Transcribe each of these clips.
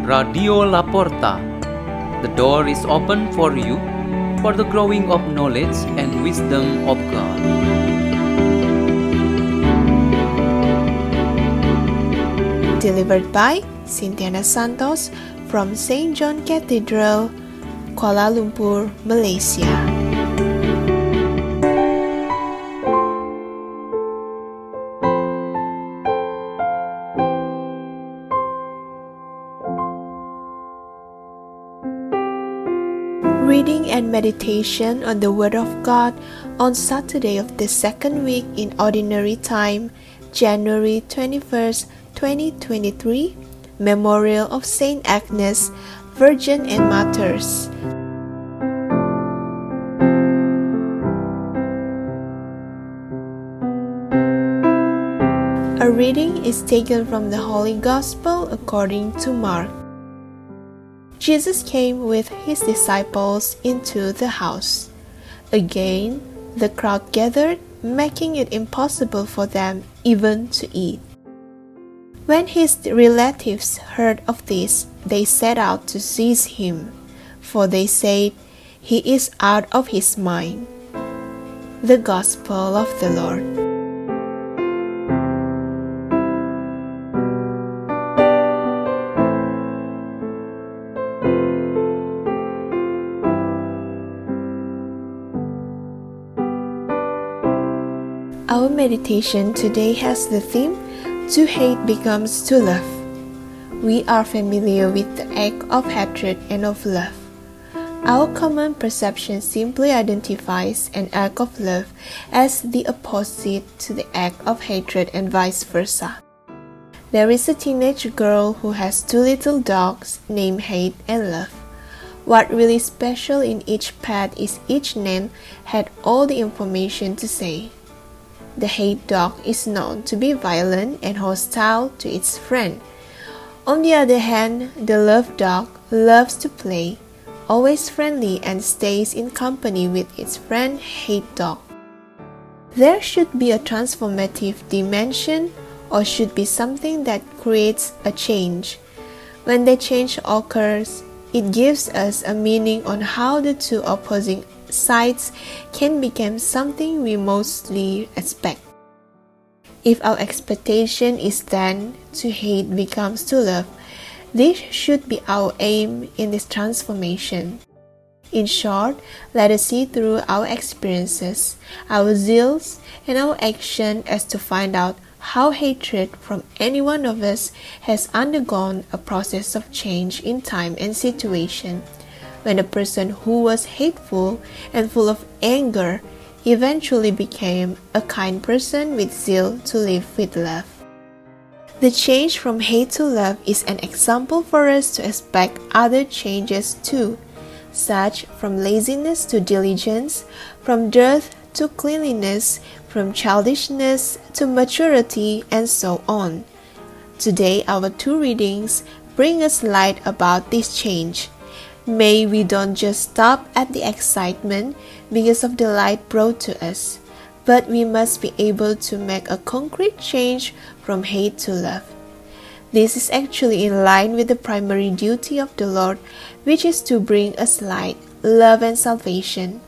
Radio Laporta. The door is open for you for the growing of knowledge and wisdom of God. Delivered by Cynthia Santos from St. John Cathedral, Kuala Lumpur, Malaysia. Reading and meditation on the Word of God on Saturday of the second week in Ordinary Time, January 21st, 2023, Memorial of Saint Agnes, Virgin and Martyrs. A reading is taken from the Holy Gospel according to Mark. Jesus came with his disciples into the house. Again, the crowd gathered, making it impossible for them even to eat. When his relatives heard of this, they set out to seize him, for they said, "He is out of his mind." The Gospel of the Lord. Our meditation today has the theme, "To hate becomes to love." We are familiar with the act of hatred and of love. Our common perception simply identifies an act of love as the opposite to the act of hatred and vice versa. There is a teenage girl who has two little dogs named Hate and Love. What really special in each pet is each name had all the information to say. The hate dog is known to be violent and hostile to its friend. On the other hand, the love dog loves to play, always friendly and stays in company with its friend hate dog. There should be a transformative dimension or should be something that creates a change. When the change occurs, it gives us a meaning on how the two opposing sides can become something we mostly expect. If our expectation is then to hate becomes to love, this should be our aim in this transformation. In short, let us see through our experiences, our zeals, and our action as to find out how hatred from any one of us has undergone a process of change in time and situation. When a person who was hateful and full of anger eventually became a kind person with zeal to live with love. The change from hate to love is an example for us to expect other changes too, such from laziness to diligence, from dirt to cleanliness, from childishness to maturity, and so on. Today, our two readings bring us light about this change. May we don't just stop at the excitement because of the light brought to us, but we must be able to make a concrete change from hate to love. This is actually in line with the primary duty of the Lord, which is to bring us light, love, and salvation.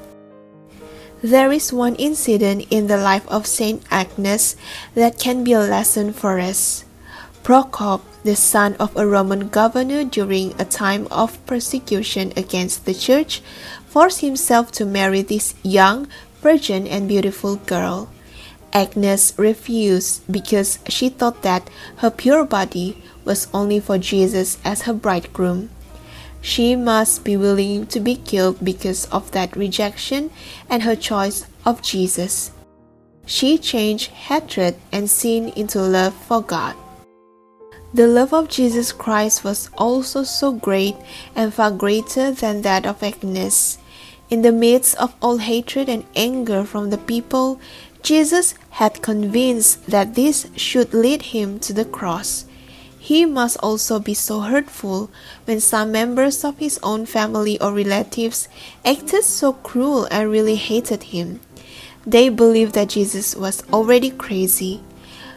There is one incident in the life of Saint Agnes that can be a lesson for us. Procope, the son of a Roman governor during a time of persecution against the church, forced himself to marry this young, virgin, and beautiful girl. Agnes refused because she thought that her pure body was only for Jesus as her bridegroom. She must be willing to be killed because of that rejection and her choice of Jesus. She changed hatred and sin into love for God. The love of Jesus Christ was also so great and far greater than that of Agnes. In the midst of all hatred and anger from the people, Jesus had convinced that this should lead him to the cross. He must also be so hurtful when some members of his own family or relatives acted so cruel and really hated him. They believed that Jesus was already crazy.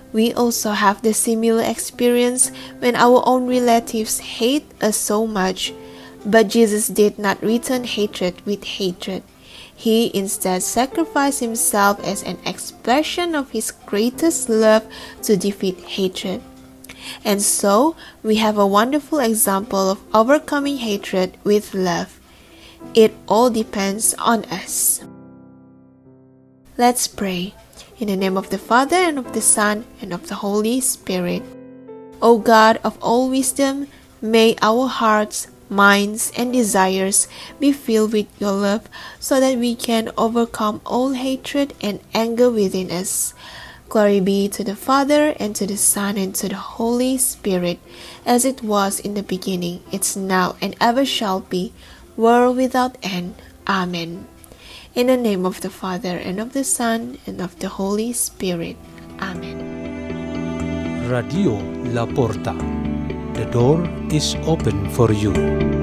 We also have the similar experience when our own relatives hate us so much, but Jesus did not return hatred with hatred. He instead sacrificed himself as an expression of his greatest love to defeat hatred. And so, we have a wonderful example of overcoming hatred with love. It all depends on us. Let's pray. In the name of the Father, and of the Son, and of the Holy Spirit. O God of all wisdom, may our hearts, minds, and desires be filled with your love, so that we can overcome all hatred and anger within us. Glory be to the Father, and to the Son, and to the Holy Spirit, as it was in the beginning, it's now, and ever shall be, world without end. Amen. In the name of the Father, and of the Son, and of the Holy Spirit. Amen. Radio La Porta. The door is open for you.